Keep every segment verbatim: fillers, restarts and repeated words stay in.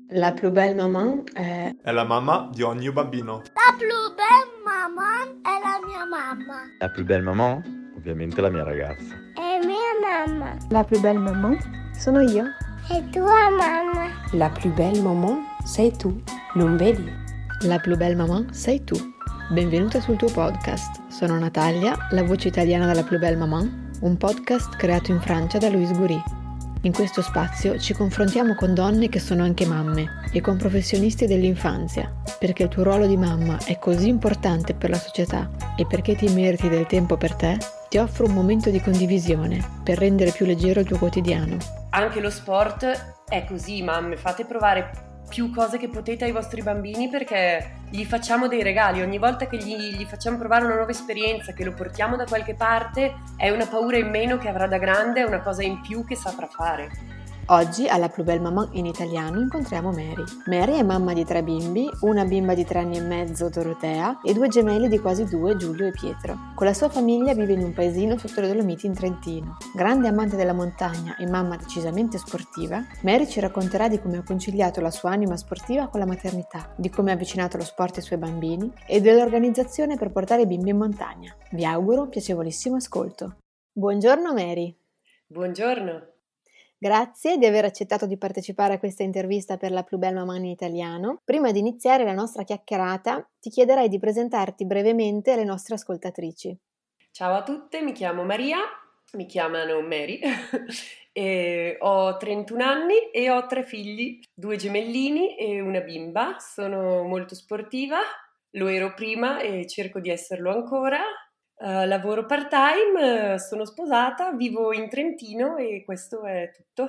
La più belle maman è... È la mamma di ogni bambino. La più bella mamma è la mia mamma. La più belle maman? Ovviamente la mia ragazza. È mia mamma. La più belle maman sono io. È tua mamma. La più belle maman sei tu, non vedi? La più belle maman sei tu. Benvenuta sul tuo podcast. Sono Natalia, la voce italiana della più belle maman, un podcast creato in Francia da Louise Goury. In questo spazio ci confrontiamo con donne che sono anche mamme e con professionisti dell'infanzia, perché il tuo ruolo di mamma è così importante per la società e perché ti meriti del tempo per te, ti offro un momento di condivisione per rendere più leggero il tuo quotidiano. Anche lo sport è così, mamme, fate provare più cose che potete ai vostri bambini perché gli facciamo dei regali, ogni volta che gli, gli facciamo provare una nuova esperienza, che lo portiamo da qualche parte, è una paura in meno che avrà da grande, è una cosa in più che saprà fare. Oggi alla Plus Belle Maman in italiano incontriamo Mary. Mary è mamma di tre bimbi, una bimba di tre anni e mezzo, Dorotea, e due gemelli di quasi due, Giulio e Pietro. Con la sua famiglia vive in un paesino sotto le Dolomiti in Trentino. Grande amante della montagna e mamma decisamente sportiva, Mary ci racconterà di come ha conciliato la sua anima sportiva con la maternità, di come ha avvicinato lo sport ai suoi bambini e dell'organizzazione per portare i bimbi in montagna. Vi auguro un piacevolissimo ascolto. Buongiorno Mary. Buongiorno. Grazie di aver accettato di partecipare a questa intervista per la Plus Belle Maman in italiano. Prima di iniziare la nostra chiacchierata, ti chiederei di presentarti brevemente alle nostre ascoltatrici. Ciao a tutte, mi chiamo Maria, mi chiamano Mary, e ho trentuno anni e ho tre figli, due gemellini e una bimba. Sono molto sportiva, lo ero prima e cerco di esserlo ancora. Uh, lavoro part-time, uh, sono sposata, vivo in Trentino e questo è tutto.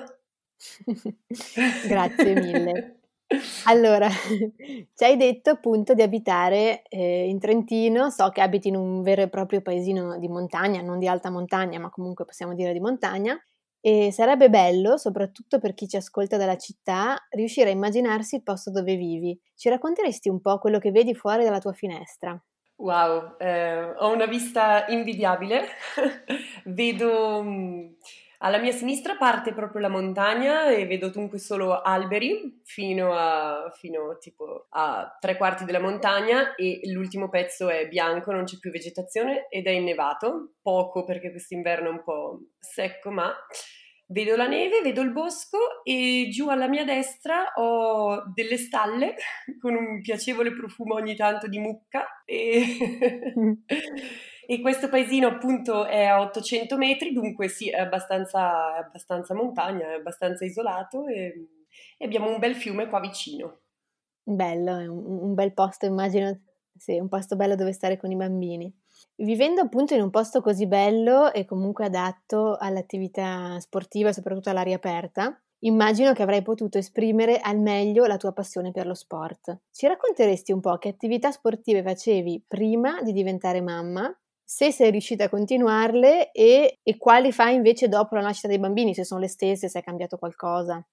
Grazie mille. Allora, ci hai detto appunto di abitare eh, in Trentino, so che abiti in un vero e proprio paesino di montagna, non di alta montagna, ma comunque possiamo dire di montagna, e sarebbe bello, soprattutto per chi ci ascolta dalla città, riuscire a immaginarsi il posto dove vivi. Ci racconteresti un po' quello che vedi fuori dalla tua finestra? Wow, eh, ho una vista invidiabile, vedo mh, alla mia sinistra parte proprio la montagna e vedo dunque solo alberi fino a, fino tipo a tre quarti della montagna e l'ultimo pezzo è bianco, non c'è più vegetazione ed è innevato, poco perché quest'inverno è un po' secco, ma vedo la neve, vedo il bosco e giù alla mia destra ho delle stalle con un piacevole profumo ogni tanto di mucca e, e questo paesino appunto è a ottocento metri, dunque sì, è abbastanza, è abbastanza montagna, è abbastanza isolato e, e abbiamo un bel fiume qua vicino. Bello, è un, un bel posto, immagino, sì, un posto bello dove stare con i bambini. Vivendo appunto in un posto così bello e comunque adatto all'attività sportiva e soprattutto all'aria aperta, immagino che avrai potuto esprimere al meglio la tua passione per lo sport. Ci racconteresti un po' che attività sportive facevi prima di diventare mamma, se sei riuscita a continuarle e, e quali fai invece dopo la nascita dei bambini, se sono le stesse, se è cambiato qualcosa?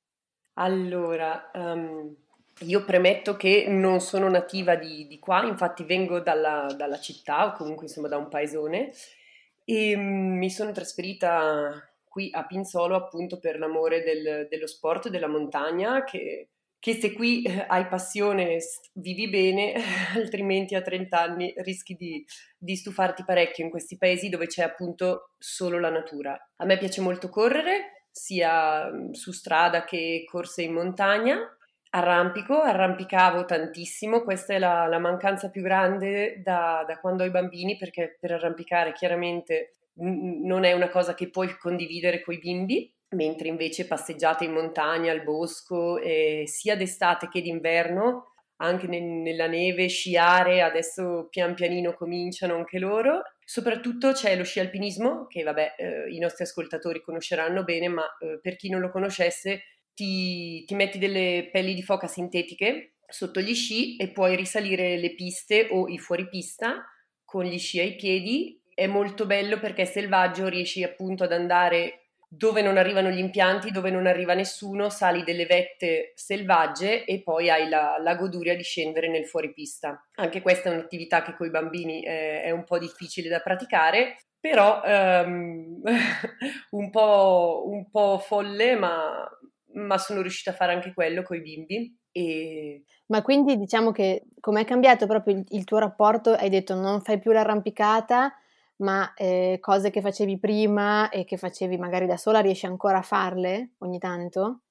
Allora, um... io premetto che non sono nativa di, di qua, infatti vengo dalla, dalla città o comunque insomma da un paesone e mm, mi sono trasferita qui a Pinzolo appunto per l'amore del, dello sport e della montagna che, che se qui eh, hai passione vivi bene, altrimenti a trenta anni rischi di, di stufarti parecchio in questi paesi dove c'è appunto solo la natura. A me piace molto correre, sia su strada che corse in montagna. Arrampico, arrampicavo tantissimo, questa è la, la mancanza più grande da, da quando ho i bambini, perché per arrampicare chiaramente n- non è una cosa che puoi condividere coi bimbi, mentre invece passeggiate in montagna, al bosco, eh, sia d'estate che d'inverno, anche ne- nella neve, sciare, adesso pian pianino cominciano anche loro. Soprattutto c'è lo sci alpinismo, che vabbè eh, i nostri ascoltatori conosceranno bene, ma eh, per chi non lo conoscesse Ti, ti metti delle pelli di foca sintetiche sotto gli sci e puoi risalire le piste o i fuoripista con gli sci ai piedi. È molto bello perché è selvaggio, riesci appunto ad andare dove non arrivano gli impianti, dove non arriva nessuno, sali delle vette selvagge e poi hai la, la goduria di scendere nel fuoripista. Anche questa è un'attività che con i bambini è, è un po' difficile da praticare, però um, un po', un po' folle, ma ma sono riuscita a fare anche quello coi bimbi. E... Ma quindi diciamo che com'è cambiato proprio il, il tuo rapporto? Hai detto non fai più l'arrampicata, ma eh, cose che facevi prima e che facevi magari da sola riesci ancora a farle ogni tanto?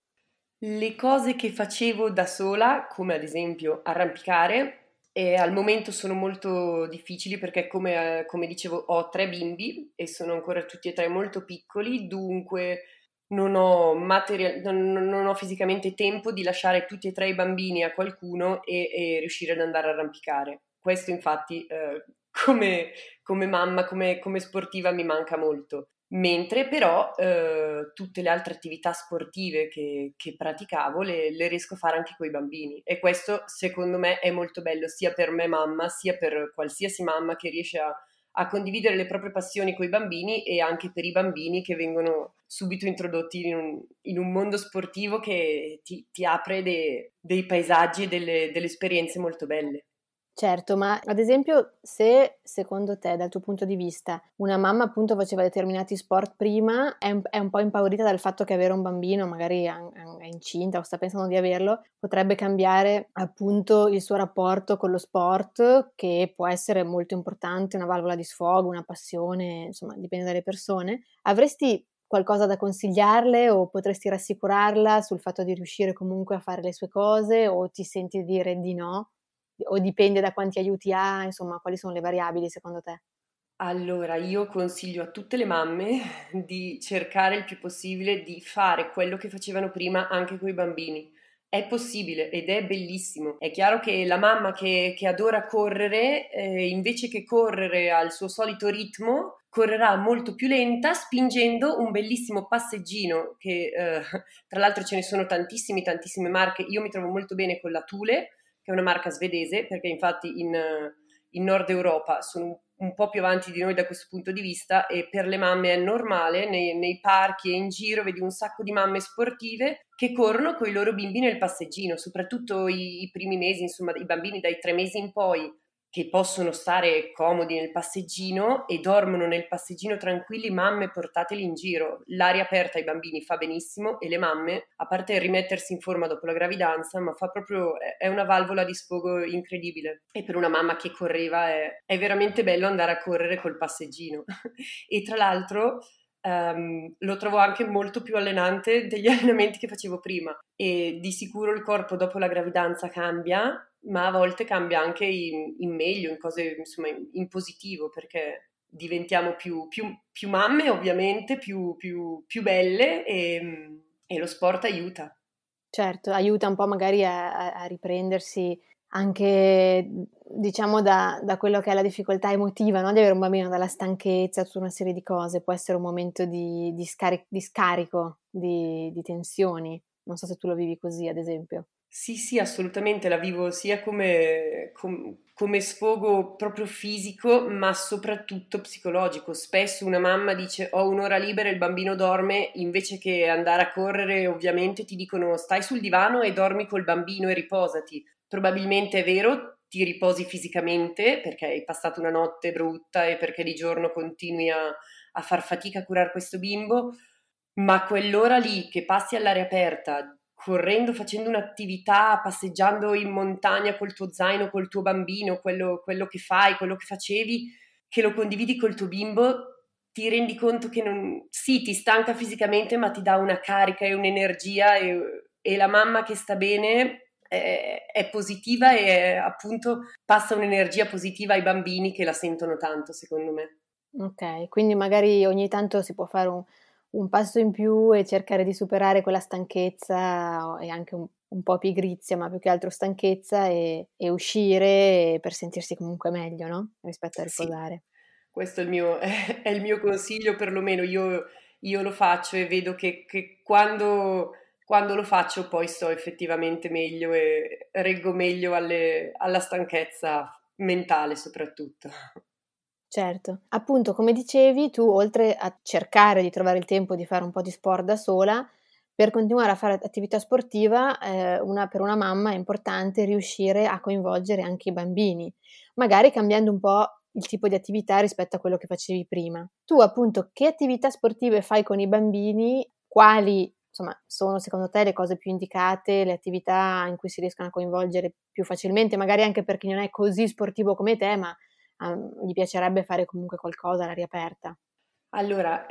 Le cose che facevo da sola, come ad esempio arrampicare, e al momento sono molto difficili perché come, eh, come dicevo ho tre bimbi e sono ancora tutti e tre molto piccoli, dunque non ho, material- non, non ho fisicamente tempo di lasciare tutti e tre i bambini a qualcuno e, e riuscire ad andare a arrampicare. Questo infatti eh, come, come mamma, come, come sportiva mi manca molto. Mentre però eh, tutte le altre attività sportive che, che praticavo le, le riesco a fare anche con i bambini e questo secondo me è molto bello sia per me mamma sia per qualsiasi mamma che riesce a, a condividere le proprie passioni con i bambini e anche per i bambini che vengono subito introdotti in un, in un mondo sportivo che ti, ti apre de, dei paesaggi e delle, delle esperienze molto belle. Certo, ma ad esempio se secondo te, dal tuo punto di vista, una mamma appunto faceva determinati sport prima, è un, è un po' impaurita dal fatto che avere un bambino, magari è, è incinta o sta pensando di averlo, potrebbe cambiare appunto il suo rapporto con lo sport, che può essere molto importante, una valvola di sfogo, una passione, insomma, dipende dalle persone. Avresti qualcosa da consigliarle o potresti rassicurarla sul fatto di riuscire comunque a fare le sue cose o ti senti dire di no? O dipende da quanti aiuti ha, insomma, quali sono le variabili secondo te? Allora, io consiglio a tutte le mamme di cercare il più possibile di fare quello che facevano prima anche con i bambini. È possibile ed è bellissimo. È chiaro che la mamma che, che adora correre, eh, invece che correre al suo solito ritmo, correrà molto più lenta spingendo un bellissimo passeggino che eh, tra l'altro ce ne sono tantissimi, tantissime marche. Io mi trovo molto bene con la Thule, che è una marca svedese, perché infatti in, in Nord Europa sono un po' più avanti di noi da questo punto di vista e per le mamme è normale, nei, nei parchi e in giro vedi un sacco di mamme sportive che corrono con i loro bimbi nel passeggino, soprattutto i, i primi mesi, insomma i bambini dai tre mesi in poi che possono stare comodi nel passeggino e dormono nel passeggino tranquilli, mamme portateli in giro. L'aria aperta ai bambini fa benissimo e le mamme, a parte il rimettersi in forma dopo la gravidanza, ma fa proprio, è una valvola di sfogo incredibile. E per una mamma che correva è, è veramente bello andare a correre col passeggino. E tra l'altro Um, lo trovo anche molto più allenante degli allenamenti che facevo prima e di sicuro il corpo dopo la gravidanza cambia, ma a volte cambia anche in, in meglio, in cose insomma in, in positivo, perché diventiamo più, più, più mamme ovviamente, più, più, più belle e, e lo sport aiuta. Certo, aiuta un po' magari a, a riprendersi anche diciamo da, da quello che è la difficoltà emotiva, no? Di avere un bambino, dalla stanchezza, tutta una serie di cose, può essere un momento di, di, scarico, di scarico di, di tensioni. Non so se tu lo vivi così, ad esempio. Sì, sì, assolutamente, la vivo sia come, com, come sfogo proprio fisico, ma soprattutto psicologico. Spesso una mamma dice ho un'ora libera e il bambino dorme, invece che andare a correre, ovviamente ti dicono stai sul divano e dormi col bambino e riposati. Probabilmente è vero, ti riposi fisicamente perché hai passato una notte brutta e perché di giorno continui a, a far fatica a curare questo bimbo, ma quell'ora lì che passi all'aria aperta, correndo, facendo un'attività, passeggiando in montagna col tuo zaino, col tuo bambino, quello, quello che fai, quello che facevi, che lo condividi col tuo bimbo, ti rendi conto che non, sì, ti stanca fisicamente, ma ti dà una carica e un'energia e, e la mamma che sta bene è, è positiva e appunto passa un'energia positiva ai bambini che la sentono tanto, secondo me. Ok, quindi magari ogni tanto si può fare un, un passo in più e cercare di superare quella stanchezza e anche un, un po' pigrizia, ma più che altro stanchezza e, e uscire per sentirsi comunque meglio, no? Rispetto a riposare. Sì, questo è il mio, è, è il mio consiglio, perlomeno io, io lo faccio e vedo che, che quando, quando lo faccio poi sto effettivamente meglio e reggo meglio alle, alla stanchezza mentale soprattutto. Certo, appunto come dicevi tu oltre a cercare di trovare il tempo di fare un po' di sport da sola, per continuare a fare attività sportiva eh, una, per una mamma è importante riuscire a coinvolgere anche i bambini, magari cambiando un po' il tipo di attività rispetto a quello che facevi prima. Tu appunto che attività sportive fai con i bambini, quali insomma, sono secondo te le cose più indicate, le attività in cui si riescono a coinvolgere più facilmente, magari anche per chi non è così sportivo come te, ma um, gli piacerebbe fare comunque qualcosa all'aria aperta? Allora,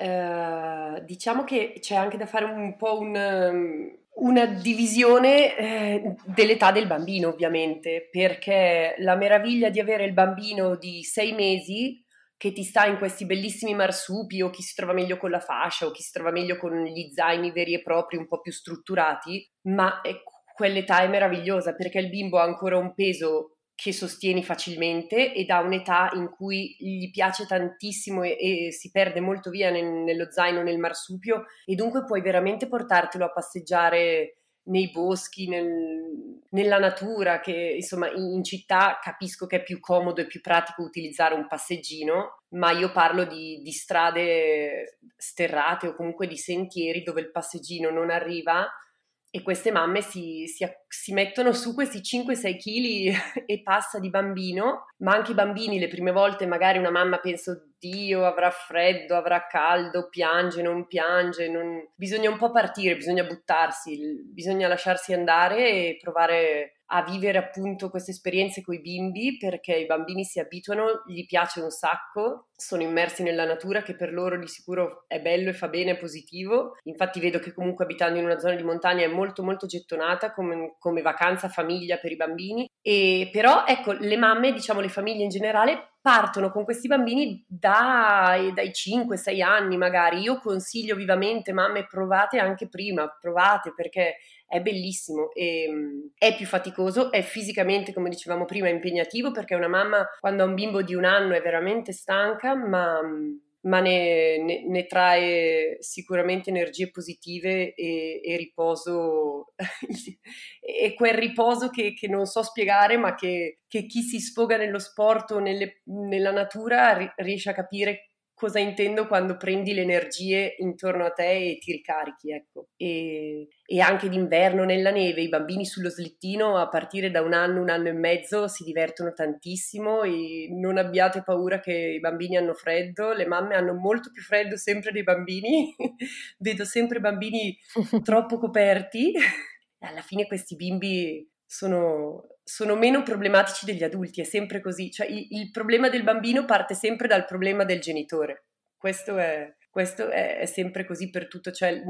eh, diciamo che c'è anche da fare un po' un, um, una divisione eh, dell'età del bambino, ovviamente, perché la meraviglia di avere il bambino di sei mesi che ti sta in questi bellissimi marsupi, o chi si trova meglio con la fascia, o chi si trova meglio con gli zaini veri e propri, un po' più strutturati, ma è, quell'età è meravigliosa perché il bimbo ha ancora un peso che sostieni facilmente ed ha un'età in cui gli piace tantissimo e, e si perde molto via nel, nello zaino, nel marsupio, e dunque puoi veramente portartelo a passeggiare nei boschi, nel, nella natura, che insomma in, in città capisco che è più comodo e più pratico utilizzare un passeggino, ma io parlo di, di strade sterrate o comunque di sentieri dove il passeggino non arriva, e queste mamme si, si, si mettono su questi cinque sei chili e passa di bambino, ma anche i bambini le prime volte magari una mamma pensa oddio avrà freddo, avrà caldo, piange, non piange, non... bisogna un po' partire, bisogna buttarsi, bisogna lasciarsi andare e provare a vivere appunto queste esperienze con i bimbi, perché i bambini si abituano, gli piace un sacco, sono immersi nella natura che per loro di sicuro è bello e fa bene, è positivo. Infatti vedo che comunque abitando in una zona di montagna è molto molto gettonata come, come vacanza famiglia per i bambini, e però ecco le mamme, diciamo le famiglie in generale, partono con questi bambini dai, dai cinque sei anni magari. Io consiglio vivamente mamme, provate anche prima, provate perché è bellissimo e è più faticoso, è fisicamente, come dicevamo prima, impegnativo, perché una mamma quando ha un bimbo di un anno è veramente stanca, ma, ma ne, ne, ne trae sicuramente energie positive e, e riposo e quel riposo che, che non so spiegare, ma che, che chi si sfoga nello sport o nelle, nella natura ri, riesce a capire cosa intendo quando prendi le energie intorno a te e ti ricarichi, ecco. E, e anche d'inverno nella neve, i bambini sullo slittino a partire da un anno, un anno e mezzo si divertono tantissimo, e non abbiate paura che i bambini hanno freddo, le mamme hanno molto più freddo sempre dei bambini, vedo sempre bambini troppo coperti, e alla fine questi bimbi sono... sono meno problematici degli adulti, è sempre così, cioè il, il problema del bambino parte sempre dal problema del genitore, questo è, questo è, è sempre così per tutto, cioè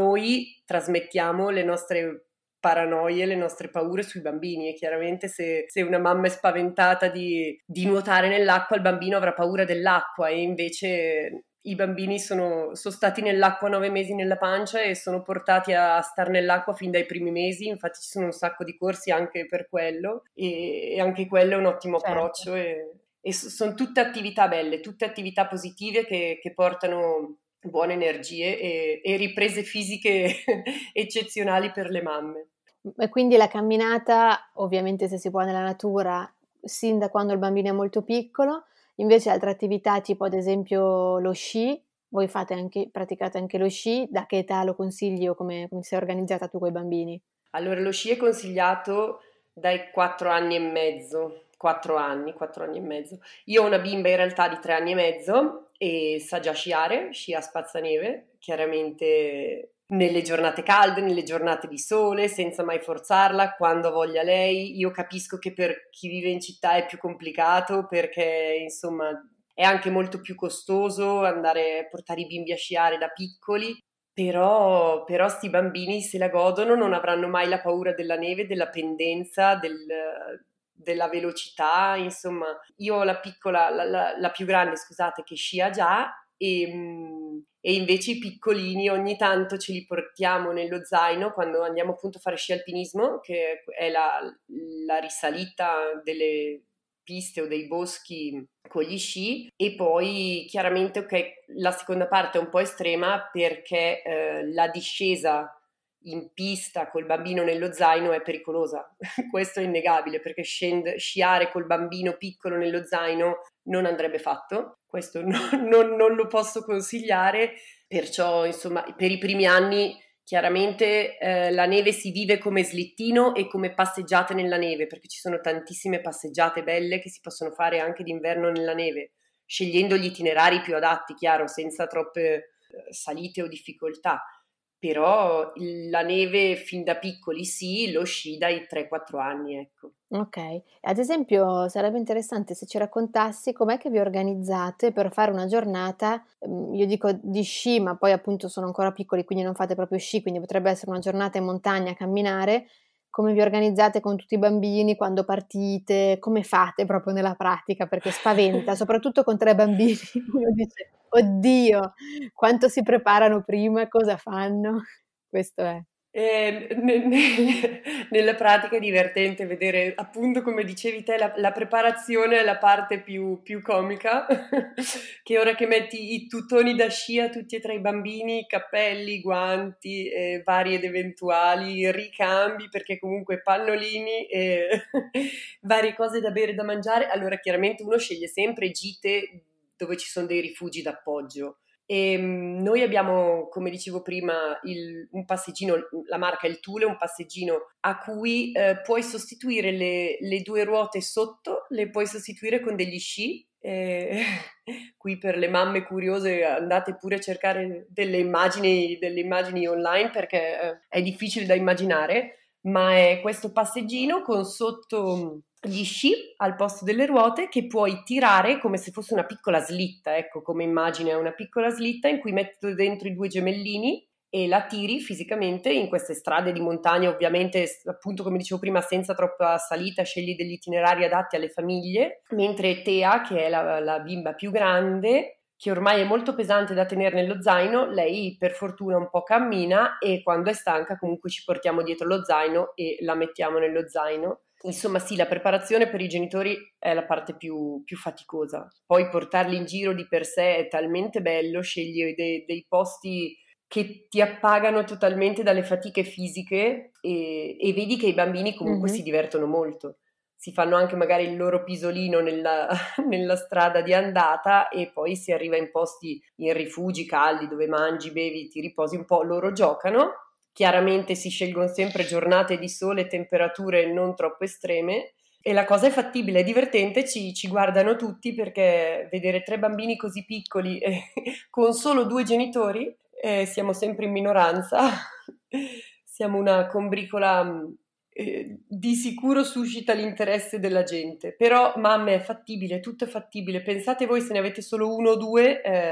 noi trasmettiamo le nostre paranoie, le nostre paure sui bambini, e chiaramente se, se una mamma è spaventata di, di nuotare nell'acqua, il bambino avrà paura dell'acqua, e invece i bambini sono, sono stati nell'acqua nove mesi nella pancia e sono portati a star nell'acqua fin dai primi mesi, infatti ci sono un sacco di corsi anche per quello, e, e anche quello è un ottimo certo. approccio, e, e sono tutte attività belle, tutte attività positive che, che portano buone energie e, e riprese fisiche eccezionali per le mamme. E quindi la camminata, ovviamente se si può nella natura, sin da quando il bambino è molto piccolo. Invece altre attività tipo ad esempio lo sci, voi fate anche, praticate anche lo sci, da che età lo consigli o come, come sei organizzata tu con i bambini? Allora lo sci è consigliato dai quattro anni e mezzo, quattro anni, quattro anni e mezzo. Io ho una bimba in realtà di tre anni e mezzo e sa già sciare, scia a spazzaneve, chiaramente nelle giornate calde, nelle giornate di sole, senza mai forzarla, quando voglia lei. Io capisco che per chi vive in città è più complicato, perché insomma è anche molto più costoso andare a portare i bimbi a sciare da piccoli, però, però sti bambini se la godono, non avranno mai la paura della neve, della pendenza, del, della velocità, insomma. Io ho la piccola, la, la, la più grande, scusate, che scia già, e, e invece i piccolini ogni tanto ce li portiamo nello zaino quando andiamo appunto a fare sci alpinismo, che è la, la risalita delle piste o dei boschi con gli sci, e poi chiaramente ok, la seconda parte è un po' estrema perché eh, la discesa in pista col bambino nello zaino è pericolosa, questo è innegabile, perché scend- sciare col bambino piccolo nello zaino non andrebbe fatto, questo no, non, non lo posso consigliare, perciò insomma per i primi anni chiaramente eh, la neve si vive come slittino e come passeggiate nella neve, perché ci sono tantissime passeggiate belle che si possono fare anche d'inverno nella neve, scegliendo gli itinerari più adatti, chiaro, senza troppe eh, salite o difficoltà. però il- la neve fin da piccoli sì, lo sci dai tre quattro anni, ecco. Ok, ad esempio sarebbe interessante se ci raccontassi com'è che vi organizzate per fare una giornata, ehm, io dico di sci, ma poi appunto sono ancora piccoli, quindi non fate proprio sci, quindi potrebbe essere una giornata in montagna a camminare. Come vi organizzate con tutti i bambini, quando partite, come fate proprio nella pratica, perché spaventa, soprattutto con tre bambini. Uno dice, oddio, quanto si preparano prima, cosa fanno? Questo è. Eh, ne- ne- nella pratica è divertente vedere, appunto, come dicevi te, la, la preparazione è la parte più, più comica, che ora che metti i tutoni da sci a tutti e tre i bambini, cappelli, guanti, eh, vari ed eventuali, ricambi, perché comunque pannolini e varie cose da bere e da mangiare, allora chiaramente uno sceglie sempre gite dove ci sono dei rifugi d'appoggio. E mm, noi abbiamo, come dicevo prima, il- un passeggino, la marca è il Thule, un passeggino a cui eh, puoi sostituire le, le due ruote sotto, le puoi sostituire con degli sci. E qui per le mamme curiose andate pure a cercare delle immagini, delle immagini online perché eh, è difficile da immaginare, ma è questo passeggino con sotto gli sci al posto delle ruote che puoi tirare come se fosse una piccola slitta, ecco, come immagine è una piccola slitta in cui metti dentro i due gemellini e la tiri fisicamente in queste strade di montagna, ovviamente appunto come dicevo prima senza troppa salita, scegli degli itinerari adatti alle famiglie, mentre Tea, che è la, la bimba più grande, che ormai è molto pesante da tenere nello zaino, lei per fortuna un po' cammina e quando è stanca comunque ci portiamo dietro lo zaino e la mettiamo nello zaino. Insomma sì, la preparazione per i genitori è la parte più, più faticosa, poi portarli in giro di per sé è talmente bello, scegli dei, dei posti che ti appagano totalmente dalle fatiche fisiche e, e vedi che i bambini comunque Mhm. si divertono molto. Si fanno anche magari il loro pisolino nella, nella strada di andata e poi si arriva in posti, in rifugi caldi dove mangi, bevi, ti riposi un po', loro giocano. Chiaramente si scelgono sempre giornate di sole e temperature non troppo estreme e la cosa è fattibile, è divertente, ci, ci guardano tutti perché vedere tre bambini così piccoli e con solo due genitori, eh, siamo sempre in minoranza, siamo una combricola mh, eh, di sicuro suscita l'interesse della gente, però mamme è fattibile, tutto è fattibile, pensate voi se ne avete solo uno o due, eh,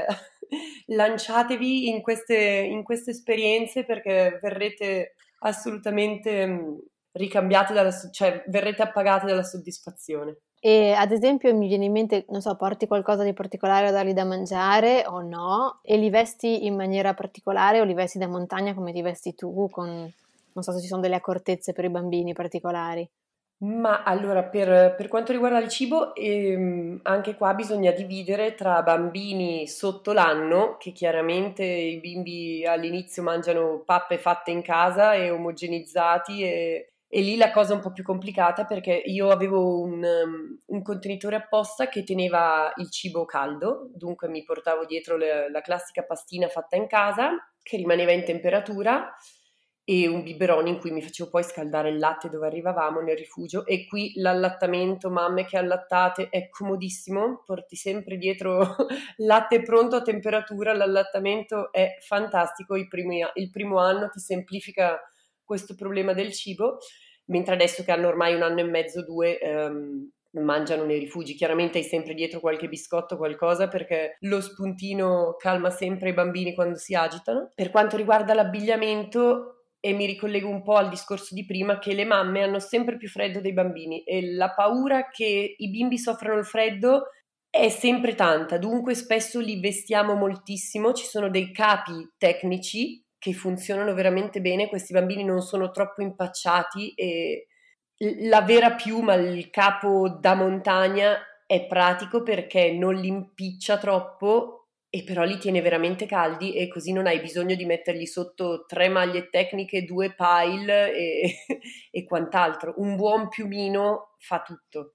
lanciatevi in queste, in queste esperienze perché verrete assolutamente mh, ricambiate dalla, so- cioè verrete appagate dalla soddisfazione. E ad esempio mi viene in mente, non so, porti qualcosa di particolare a dargli da mangiare o no? E li vesti in maniera particolare o li vesti da montagna come ti vesti tu, con, non so se ci sono delle accortezze per i bambini particolari. Ma allora, per, per quanto riguarda il cibo, ehm, anche qua bisogna dividere tra bambini sotto l'anno, che chiaramente i bimbi all'inizio mangiano pappe fatte in casa e omogenizzati, e, e lì la cosa è un po' più complicata perché io avevo un, um, un contenitore apposta che teneva il cibo caldo, dunque mi portavo dietro le- la classica pastina fatta in casa, che rimaneva in temperatura e un biberone in cui mi facevo poi scaldare il latte dove arrivavamo nel rifugio e qui l'allattamento, mamme che allattate, è comodissimo, porti sempre dietro latte pronto a temperatura, l'allattamento è fantastico, il primo, il primo anno ti semplifica questo problema del cibo, mentre adesso che hanno ormai un anno e mezzo, due, ehm, mangiano nei rifugi, chiaramente hai sempre dietro qualche biscotto, qualcosa, perché lo spuntino calma sempre i bambini quando si agitano. Per quanto riguarda l'abbigliamento, e mi ricollego un po' al discorso di prima, che le mamme hanno sempre più freddo dei bambini e la paura che i bimbi soffrano il freddo è sempre tanta, dunque spesso li vestiamo moltissimo, ci sono dei capi tecnici che funzionano veramente bene, questi bambini non sono troppo impacciati e la vera piuma, il capo da montagna è pratico perché non li impiccia troppo e però li tiene veramente caldi e così non hai bisogno di mettergli sotto tre maglie tecniche, due pile e, e quant'altro. Un buon piumino fa tutto.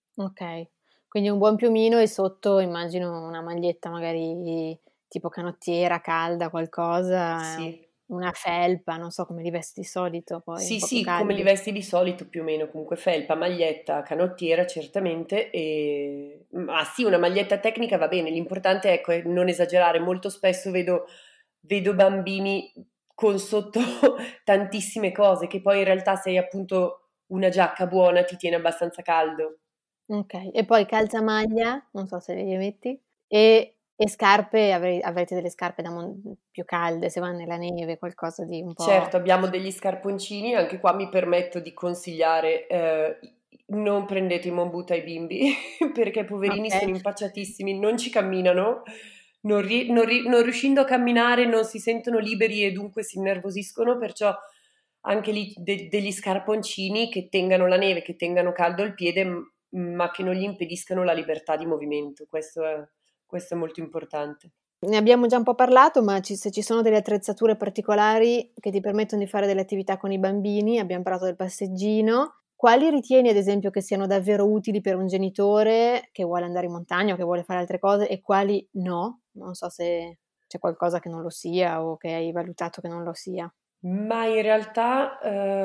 Ok, quindi un buon piumino e sotto immagino una maglietta magari tipo canottiera, calda, qualcosa, Sì. una felpa, non so come li vesti di solito, poi un Sì, po' più sì, come li caldi. vesti di solito più o meno, comunque felpa, maglietta, canottiera certamente, e... ma sì, una maglietta tecnica va bene, l'importante ecco, è non esagerare, molto spesso vedo, vedo bambini con sotto tantissime cose, che poi in realtà se hai appunto una giacca buona ti tiene abbastanza caldo. Ok, e poi calzamaglia, non so se le metti, e, e scarpe, avre- avrete delle scarpe da mon- più calde, se va nella neve, qualcosa di un po'... Certo, abbiamo degli scarponcini, anche qua mi permetto di consigliare, eh, non prendete i Moon Boot ai bimbi, perché poverini Ok. sono impacciatissimi, non ci camminano, non, ri- non ri- non riuscendo a camminare non si sentono liberi e dunque si innervosiscono, perciò anche lì de- degli scarponcini che tengano la neve, che tengano caldo il piede, m- ma che non gli impediscano la libertà di movimento, questo è, questo è molto importante. Ne abbiamo già un po' parlato, ma ci- se ci sono delle attrezzature particolari che ti permettono di fare delle attività con i bambini, abbiamo parlato del passeggino, quali ritieni ad esempio che siano davvero utili per un genitore che vuole andare in montagna o che vuole fare altre cose e quali no? Non so se c'è qualcosa che non lo sia o che hai valutato che non lo sia. Ma in realtà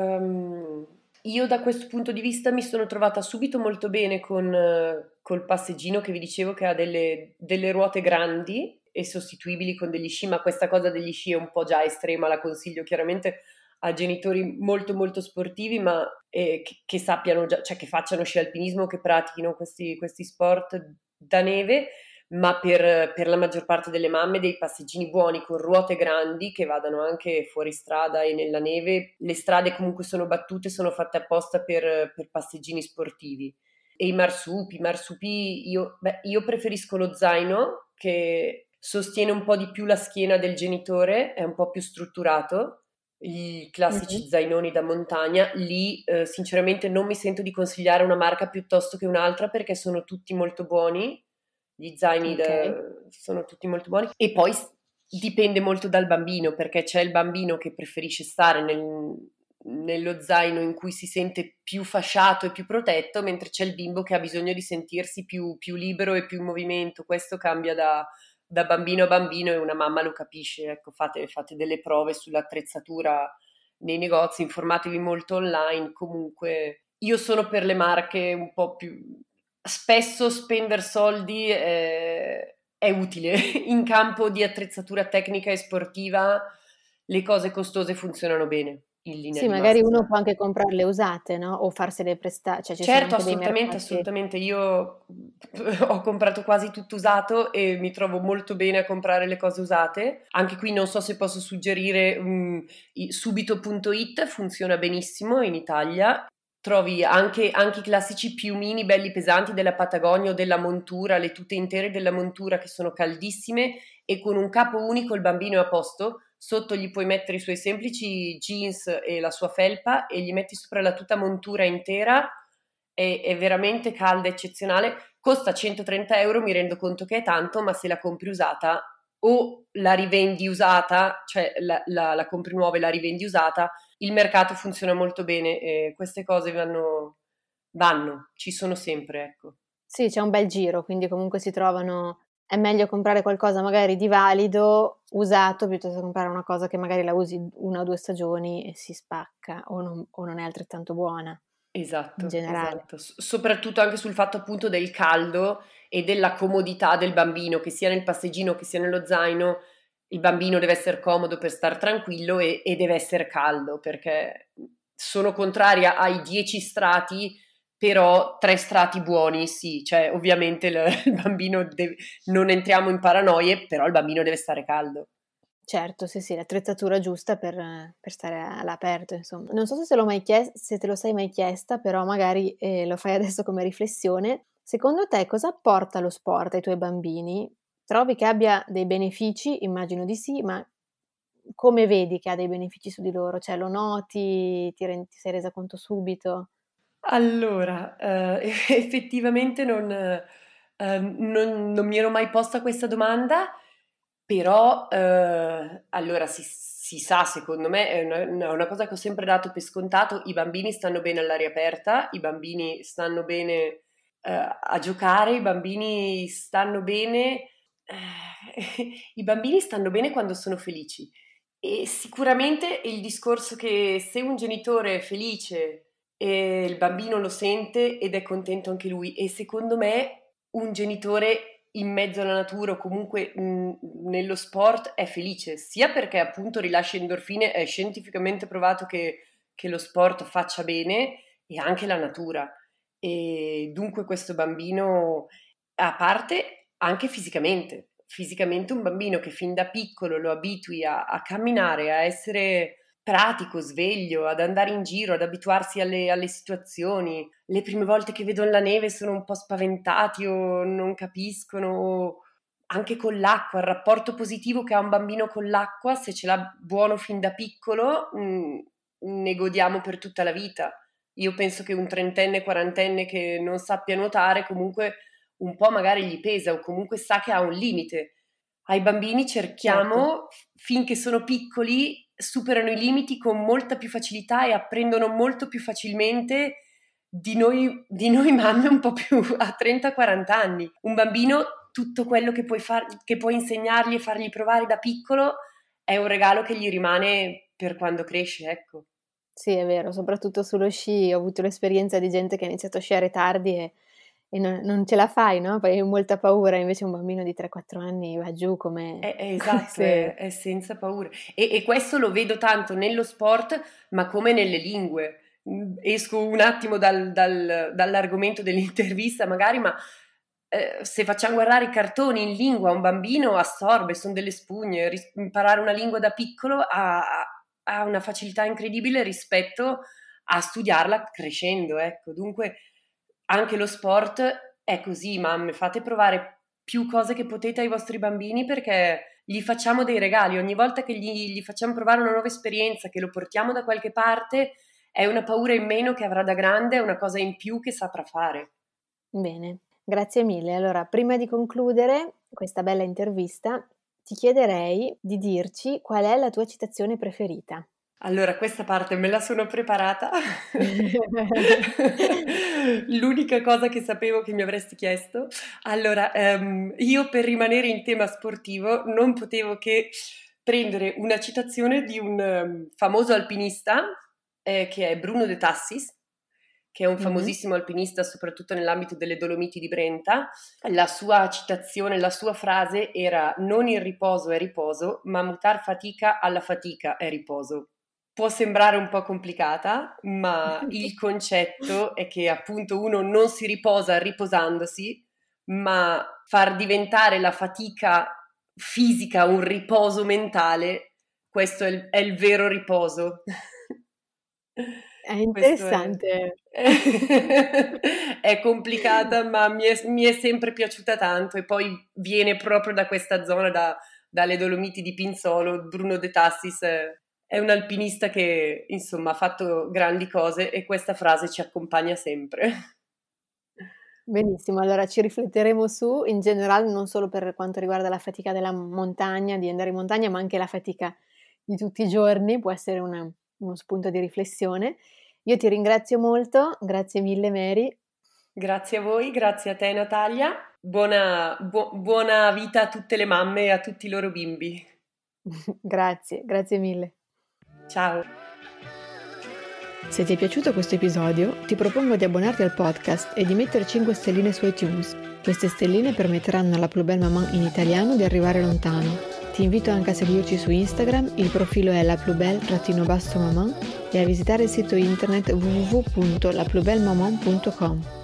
ehm, io da questo punto di vista mi sono trovata subito molto bene con eh, col passeggino che vi dicevo che ha delle, delle ruote grandi e sostituibili con degli sci, ma questa cosa degli sci è un po' già estrema, la consiglio chiaramente a genitori molto molto sportivi, ma eh, che, che sappiano già, cioè che facciano sci alpinismo, che pratichino questi, questi sport da neve, ma per, per la maggior parte delle mamme dei passeggini buoni con ruote grandi che vadano anche fuori strada e nella neve. Le strade comunque sono battute, sono fatte apposta per, per passeggini sportivi. E i marsupi, i marsupi io, beh, io preferisco lo zaino che sostiene un po' di più la schiena del genitore, è un po' più strutturato. I classici Mhm. zainoni da montagna, lì eh, sinceramente non mi sento di consigliare una marca piuttosto che un'altra perché sono tutti molto buoni, gli zaini Ok. da- sono tutti molto buoni e poi s- dipende molto dal bambino perché c'è il bambino che preferisce stare nel- nello zaino in cui si sente più fasciato e più protetto, mentre c'è il bimbo che ha bisogno di sentirsi più, più libero e più in movimento. Questo cambia da, da bambino a bambino e una mamma lo capisce. Ecco, fate, fate delle prove sull'attrezzatura nei negozi, informatevi molto online. Comunque, io sono per le marche un po' più. Spesso spendere soldi è, è utile. In campo di attrezzatura tecnica e sportiva, le cose costose funzionano bene, in linea Sì, di magari uno massima. può anche comprarle usate, no? O farsele prestare, cioè ci sono Certo, anche dei assolutamente, mercati. assolutamente. Io ho comprato quasi tutto usato e mi trovo molto bene a comprare le cose usate. Anche qui non so se posso suggerire um, i- subito punto it, funziona benissimo in Italia. Trovi anche, anche i classici piumini belli pesanti della Patagonia o della montura, le tute intere della montura che sono caldissime e con un capo unico il bambino è a posto. Sotto gli puoi mettere i suoi semplici jeans e la sua felpa e gli metti sopra la tuta montura intera, è, è veramente calda, eccezionale, costa centotrenta euro, mi rendo conto che è tanto, ma se la compri usata o la rivendi usata, cioè la, la, la compri nuova e la rivendi usata, il mercato funziona molto bene e queste cose vanno, vanno, ci sono sempre, ecco. Sì, c'è un bel giro, quindi comunque si trovano. È meglio comprare qualcosa magari di valido, usato, piuttosto che comprare una cosa che magari la usi una o due stagioni e si spacca o non, o non è altrettanto buona in Esatto, generale. esatto. S- soprattutto anche sul fatto appunto del caldo e della comodità del bambino, che sia nel passeggino che sia nello zaino, il bambino deve essere comodo per star tranquillo e, e deve essere caldo, perché sono contraria ai dieci strati, però tre strati buoni, sì, cioè ovviamente il, il bambino deve, non entriamo in paranoie, però il bambino deve stare caldo. Certo, sì, sì, l'attrezzatura giusta per, per stare all'aperto, insomma. Non so se, te l'ho mai chies- se te lo sei mai chiesta, però magari eh, lo fai adesso come riflessione. Secondo te cosa apporta lo sport ai tuoi bambini? Trovi che abbia dei benefici? Immagino di sì, ma come vedi che ha dei benefici su di loro? Cioè lo noti, ti, ren- ti sei resa conto subito? Allora, eh, effettivamente non, eh, non- non mi ero mai posta questa domanda, però eh, allora si, si sa, secondo me, è una, una- una cosa che ho sempre dato per scontato, i bambini stanno bene all'aria aperta, i bambini stanno bene eh, a giocare, i bambini stanno bene, eh, i bambini stanno bene quando sono felici. E sicuramente il discorso che se un genitore è felice e il bambino lo sente ed è contento anche lui, e secondo me un genitore in mezzo alla natura o comunque mh, nello sport è felice, sia perché appunto rilascia endorfine, è scientificamente provato che, che lo sport faccia bene, e anche la natura. E dunque questo bambino, a parte anche fisicamente, fisicamente un bambino che fin da piccolo lo abitui a, a camminare, a essere pratico, sveglio, ad andare in giro, ad abituarsi alle, alle situazioni. Le prime volte che vedono la neve sono un po' spaventati o non capiscono. Anche con l'acqua, il rapporto positivo che ha un bambino con l'acqua, se ce l'ha buono fin da piccolo, mh, ne godiamo per tutta la vita. Io penso che un trentenne, quarantenne che non sappia nuotare comunque un po' magari gli pesa, o comunque sa che ha un limite. Ai bambini cerchiamo, certo, finché sono piccoli, superano i limiti con molta più facilità e apprendono molto più facilmente di noi, di noi mamme un po' più a trenta quaranta anni. Un bambino, tutto quello che puoi, far, che puoi insegnargli e fargli provare da piccolo è un regalo che gli rimane per quando cresce, ecco. Sì, è vero, soprattutto sullo sci ho avuto l'esperienza di gente che ha iniziato a sciare tardi e, e non, non ce la fai, no? Poi hai molta paura, invece un bambino di tre quattro anni va giù come... È, è esatto, se... è, è senza paura. E, e questo lo vedo tanto nello sport, ma come nelle lingue. Esco un attimo dal, dal, dall'argomento dell'intervista magari, ma eh, se facciamo guardare i cartoni in lingua, un bambino assorbe, sono delle spugne. Ris- imparare una lingua da piccolo ha, ha una facilità incredibile rispetto a studiarla crescendo, ecco. Dunque anche lo sport è così, mamme, fate provare più cose che potete ai vostri bambini, perché gli facciamo dei regali. Ogni volta che gli, gli facciamo provare una nuova esperienza, che lo portiamo da qualche parte, è una paura in meno che avrà da grande, è una cosa in più che saprà fare. Bene, grazie mille. Allora, prima di concludere questa bella intervista, ti chiederei di dirci qual è la tua citazione preferita. Allora, questa parte me la sono preparata. L'unica cosa che sapevo che mi avresti chiesto. Allora, um, io per rimanere in tema sportivo non potevo che prendere una citazione di un um, famoso alpinista eh, che è Bruno De Tassis, che è un famosissimo mm-hmm. alpinista soprattutto nell'ambito delle Dolomiti di Brenta. La sua citazione, la sua frase era: non il riposo è riposo, ma mutar fatica alla fatica è riposo. Può sembrare un po' complicata, ma il concetto è che appunto uno non si riposa riposandosi, ma far diventare la fatica fisica un riposo mentale, questo è il, è il vero riposo. È interessante. È, è complicata, ma mi è, mi è sempre piaciuta tanto, e poi viene proprio da questa zona, da, dalle Dolomiti di Pinzolo. Bruno De Tassis è, è un alpinista che insomma ha fatto grandi cose, e questa frase ci accompagna sempre. Benissimo, allora ci rifletteremo su, in generale, non solo per quanto riguarda la fatica della montagna, di andare in montagna, ma anche la fatica di tutti i giorni, può essere una, uno spunto di riflessione. Io ti ringrazio molto, grazie mille Mary. Grazie a voi, grazie a te Natalia, buona, bu- buona vita a tutte le mamme e a tutti i loro bimbi. Grazie, grazie mille. Ciao. Se ti è piaciuto questo episodio, ti propongo di abbonarti al podcast e di mettere cinque stelline su iTunes. Queste stelline permetteranno alla Plus Belle Maman in italiano di arrivare lontano. Ti invito anche a seguirci su Instagram, il profilo è la plus belle-maman, e a visitare il sito internet w w w punto la plus belle maman punto com.